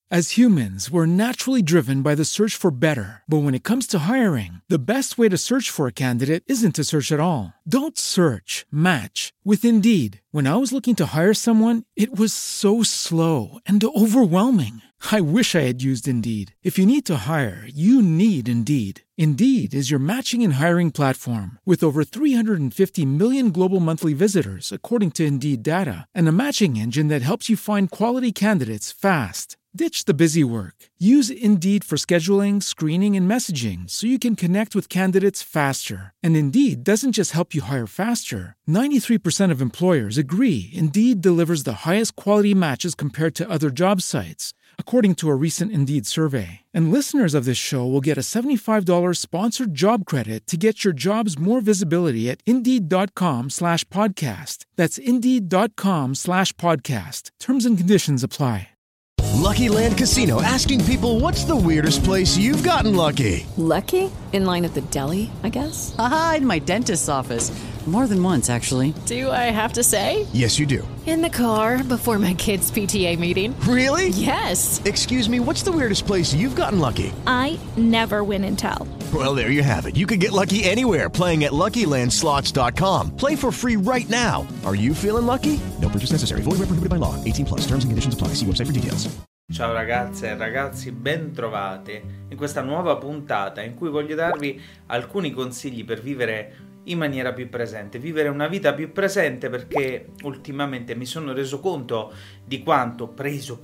As humans, we're naturally driven by the search for better. But when it comes to hiring, the best way to search for a candidate isn't to search at all. Don't search, match with Indeed. When I was looking to hire someone, it was so slow and overwhelming. I wish I had used Indeed. If you need to hire, you need Indeed. Indeed is your matching and hiring platform with over 350 million global monthly visitors, according to Indeed data, and a matching engine that helps you find quality candidates fast. Ditch the busy work. Use Indeed for scheduling, screening, and messaging so you can connect with candidates faster. And Indeed doesn't just help you hire faster. 93% of employers agree Indeed delivers the highest quality matches compared to other job sites, according to a recent Indeed survey. And listeners of this show will get a $75 sponsored job credit to get your jobs more visibility at Indeed.com/podcast. That's Indeed.com/podcast. Terms and conditions apply. Lucky Land Casino, asking people, what's the weirdest place you've gotten lucky? Lucky? In line at the deli, I guess? Aha, in my dentist's office. More than once, actually. Do I have to say? Yes, you do. In the car before my kids' PTA meeting. Really? Yes. Excuse me, what's the weirdest place you've gotten lucky? I never win and tell. Well, there you have it. You can get lucky anywhere, playing at LuckyLandSlots.com. Play for free right now. Are you feeling lucky? No purchase necessary. Void where prohibited by law. 18+. Terms and conditions apply. See website for details. Ciao ragazze e ragazzi, ben trovate in questa nuova puntata in cui voglio darvi alcuni consigli per vivere in maniera più presente, vivere una vita più presente, perché ultimamente mi sono reso conto di quanto preso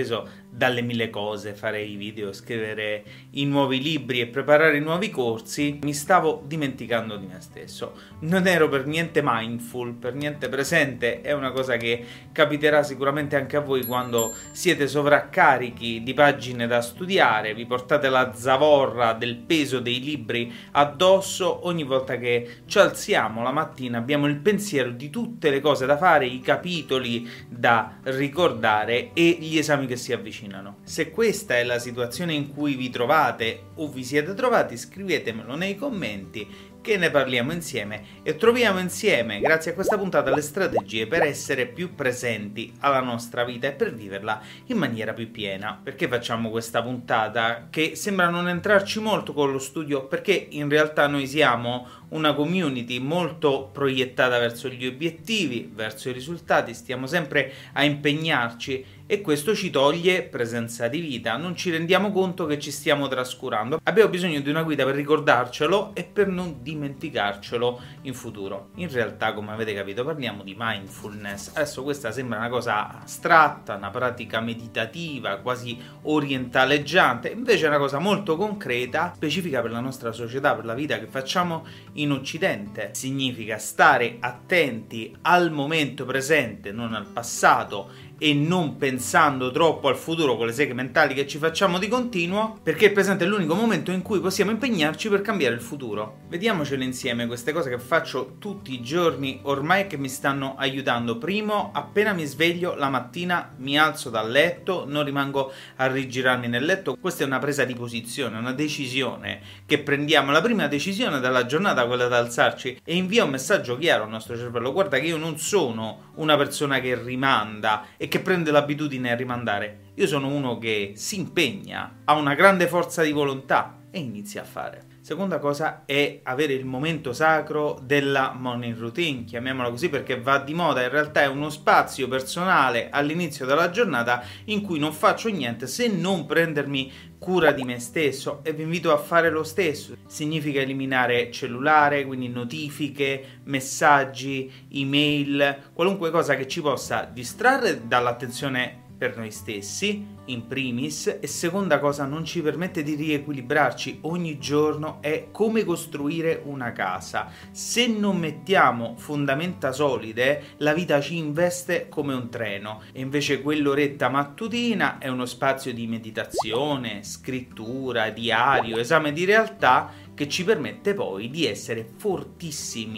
dalle mille cose, fare i video, scrivere i nuovi libri e preparare i nuovi corsi, mi stavo dimenticando di me stesso. Non ero per niente mindful, per niente presente. È una cosa che capiterà sicuramente anche a voi quando siete sovraccarichi di pagine da studiare, vi portate la zavorra del peso dei libri addosso. Ogni volta che ci alziamo la mattina abbiamo il pensiero di tutte le cose da fare, i capitoli da ricordare e gli esami che si avvicinano. Se questa è la situazione in cui vi trovate o vi siete trovati, scrivetemelo nei commenti che ne parliamo insieme e troviamo insieme, grazie a questa puntata, le strategie per essere più presenti alla nostra vita e per viverla in maniera più piena. Perché facciamo questa puntata che sembra non entrarci molto con lo studio? Perché in realtà noi siamo una community molto proiettata verso gli obiettivi, verso i risultati, stiamo sempre a impegnarci e questo ci toglie presenza di vita, non ci rendiamo conto che ci stiamo trascurando. Abbiamo bisogno di una guida per ricordarcelo e per non dimenticarcelo in futuro. In realtà, come avete capito, parliamo di mindfulness. Adesso questa sembra una cosa astratta, una pratica meditativa, quasi orientaleggiante, invece è una cosa molto concreta, specifica per la nostra società, per la vita che facciamo in Occidente. Significa stare attenti al momento presente, non al passato, e non pensando troppo al futuro con le seghe mentali che ci facciamo di continuo, perché il presente è l'unico momento in cui possiamo impegnarci per cambiare il futuro. Vediamocele insieme queste cose che faccio tutti i giorni ormai che mi stanno aiutando. Primo, appena mi sveglio la mattina mi alzo dal letto, non rimango a rigirarmi nel letto. Questa è una presa di posizione, una decisione che prendiamo, la prima decisione della giornata, quella da alzarci, e invia un messaggio chiaro al nostro cervello: guarda che io non sono una persona che rimanda e che prende l'abitudine a rimandare, io sono uno che si impegna, ha una grande forza di volontà e inizia a fare. Seconda cosa è avere il momento sacro della morning routine, chiamiamola così perché va di moda, in realtà è uno spazio personale all'inizio della giornata in cui non faccio niente se non prendermi cura di me stesso, e vi invito a fare lo stesso. Significa eliminare cellulare, quindi notifiche, messaggi, email, qualunque cosa che ci possa distrarre dall'attenzione per noi stessi, in primis, e seconda cosa, non ci permette di riequilibrarci. Ogni giorno è come costruire una casa. Se non mettiamo fondamenta solide, la vita ci investe come un treno, e invece quell'oretta mattutina è uno spazio di meditazione, scrittura, diario, esame di realtà che ci permette poi di essere fortissimi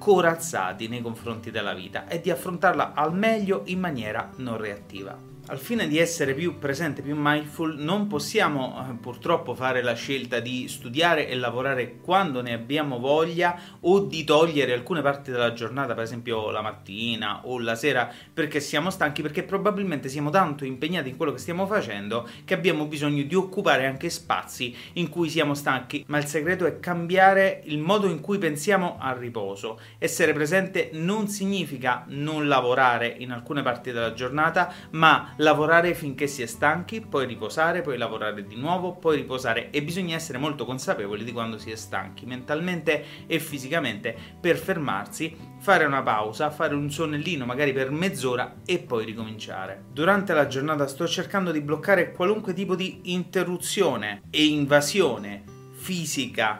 corazzati nei confronti della vita e di affrontarla al meglio in maniera non reattiva. Al fine di essere più presente, più mindful, non possiamo purtroppo fare la scelta di studiare e lavorare quando ne abbiamo voglia o di togliere alcune parti della giornata, per esempio la mattina o la sera, perché siamo stanchi, perché probabilmente siamo tanto impegnati in quello che stiamo facendo che abbiamo bisogno di occupare anche spazi in cui siamo stanchi. Ma il segreto è cambiare il modo in cui pensiamo al riposo. Essere presente non significa non lavorare in alcune parti della giornata, ma lavorare finché si è stanchi, poi riposare, poi lavorare di nuovo, poi riposare, e bisogna essere molto consapevoli di quando si è stanchi mentalmente e fisicamente per fermarsi, fare una pausa, fare un sonnellino magari per mezz'ora e poi ricominciare. Durante la giornata sto cercando di bloccare qualunque tipo di interruzione e invasione fisica,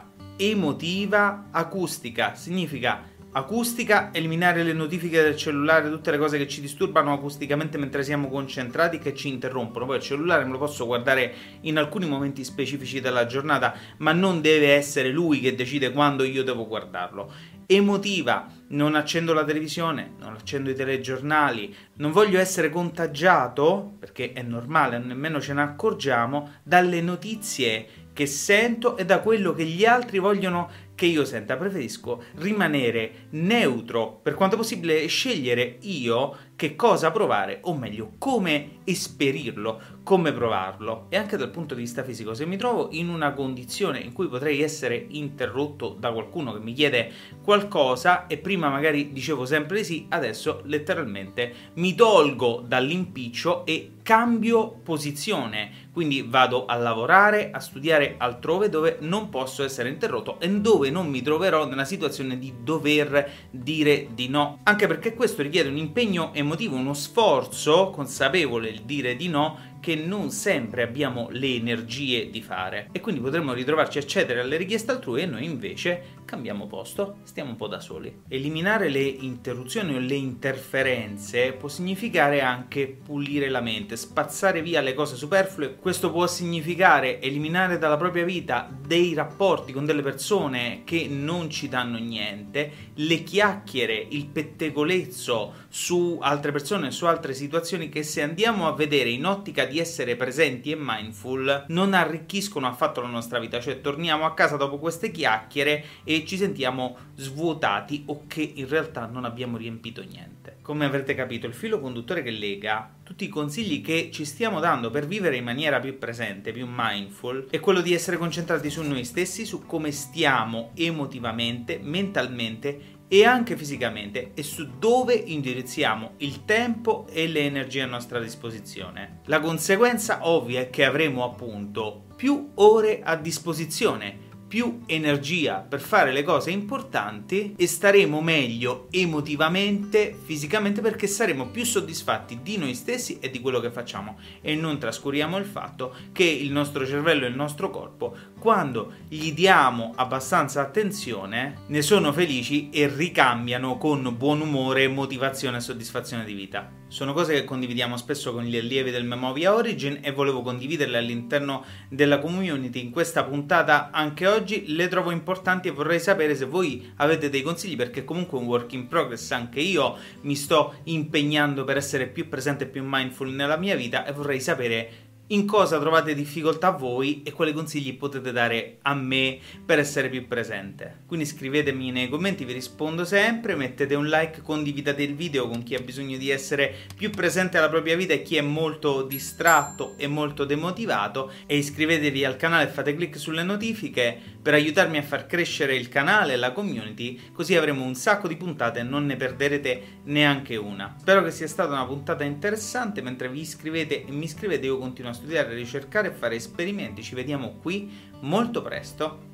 emotiva, acustica. Significa acustica, eliminare le notifiche del cellulare, tutte le cose che ci disturbano acusticamente mentre siamo concentrati, che ci interrompono. Poi il cellulare me lo posso guardare in alcuni momenti specifici della giornata, ma non deve essere lui che decide quando io devo guardarlo. Emotiva, non accendo la televisione, non accendo i telegiornali, non voglio essere contagiato, perché è normale, nemmeno ce ne accorgiamo, dalle notizie che sento e da quello che gli altri vogliono che io senta. Preferisco rimanere neutro per quanto possibile e scegliere io che cosa provare, o meglio come esperirlo, come provarlo. E anche dal punto di vista fisico, se mi trovo in una condizione in cui potrei essere interrotto da qualcuno che mi chiede qualcosa e prima magari dicevo sempre di sì, adesso letteralmente mi tolgo dall'impiccio e cambio posizione. Quindi vado a lavorare, a studiare altrove dove non posso essere interrotto e dove non mi troverò nella situazione di dover dire di no. Anche perché questo richiede un impegno emotivo, uno sforzo consapevole, il dire di no, che non sempre abbiamo le energie di fare, e quindi potremmo ritrovarci a cedere alle richieste altrui e noi invece cambiamo posto, stiamo un po' da soli. Eliminare le interruzioni o le interferenze può significare anche pulire la mente, spazzare via le cose superflue. Questo può significare eliminare dalla propria vita dei rapporti con delle persone che non ci danno niente, le chiacchiere, il pettegolezzo su altre persone, su altre situazioni che, se andiamo a vedere in ottica di essere presenti e mindful, non arricchiscono affatto la nostra vita. Cioè torniamo a casa dopo queste chiacchiere e ci sentiamo svuotati o che in realtà non abbiamo riempito niente. Come avrete capito, il filo conduttore che lega tutti i consigli che ci stiamo dando per vivere in maniera più presente, più mindful, è quello di essere concentrati su noi stessi, su come stiamo emotivamente, mentalmente e anche fisicamente, e su dove indirizziamo il tempo e le energie a nostra disposizione. La conseguenza ovvia è che avremo appunto più ore a disposizione, più energia per fare le cose importanti e staremo meglio emotivamente, fisicamente, perché saremo più soddisfatti di noi stessi e di quello che facciamo. E non trascuriamo il fatto che il nostro cervello e il nostro corpo, quando gli diamo abbastanza attenzione, ne sono felici e ricambiano con buon umore, motivazione e soddisfazione di vita. Sono cose che condividiamo spesso con gli allievi del Memovia Origin e volevo condividerle all'interno della community in questa puntata anche oggi. Le trovo importanti e vorrei sapere se voi avete dei consigli, perché comunque è un work in progress, anche io mi sto impegnando per essere più presente e più mindful nella mia vita e vorrei sapere in cosa trovate difficoltà voi e quali consigli potete dare a me per essere più presente. Quindi scrivetemi nei commenti, vi rispondo sempre, mettete un like, condividete il video con chi ha bisogno di essere più presente alla propria vita e chi è molto distratto e molto demotivato, e iscrivetevi al canale e fate clic sulle notifiche per aiutarmi a far crescere il canale e la community, così avremo un sacco di puntate e non ne perderete neanche una. Spero che sia stata una puntata interessante. Mentre vi iscrivete e mi iscrivete, io continuo a studiare, ricercare e fare esperimenti. Ci vediamo qui molto presto.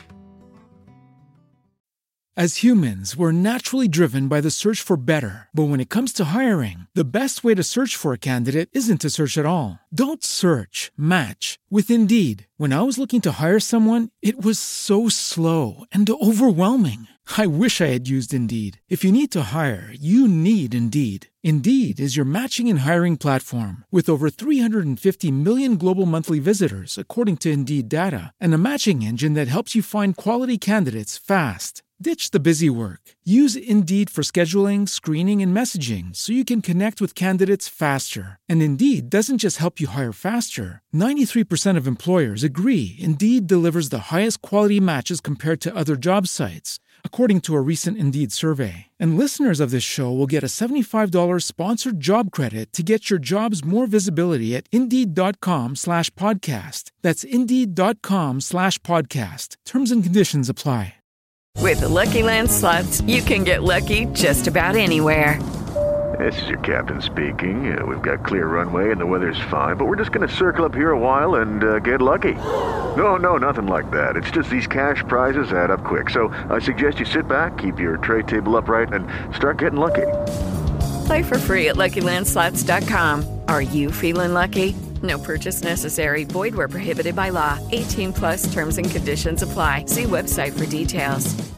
As humans, we're naturally driven by the search for better. But when it comes to hiring, the best way to search for a candidate isn't to search at all. Don't search, match with Indeed. When I was looking to hire someone, it was so slow and overwhelming. I wish I had used Indeed. If you need to hire, you need Indeed. Indeed is your matching and hiring platform with over 350 million global monthly visitors, according to Indeed data, and a matching engine that helps you find quality candidates fast. Ditch the busy work. Use Indeed for scheduling, screening, and messaging so you can connect with candidates faster. And Indeed doesn't just help you hire faster. 93% of employers agree Indeed delivers the highest quality matches compared to other job sites, according to a recent Indeed survey. And listeners of this show will get a $75 sponsored job credit to get your jobs more visibility at Indeed.com/podcast. That's Indeed.com/podcast. Terms and conditions apply. With the Lucky Land Slots, you can get lucky just about anywhere. This is your captain speaking. We've got clear runway and the weather's fine, but we're just going to circle up here a while and get lucky. No, nothing like that. It's just these cash prizes add up quick. So I suggest you sit back, keep your tray table upright, and start getting lucky. Play for free at LuckyLandSlots.com. Are you feeling lucky? No purchase necessary. Void where prohibited by law. 18+ terms and conditions apply. See website for details.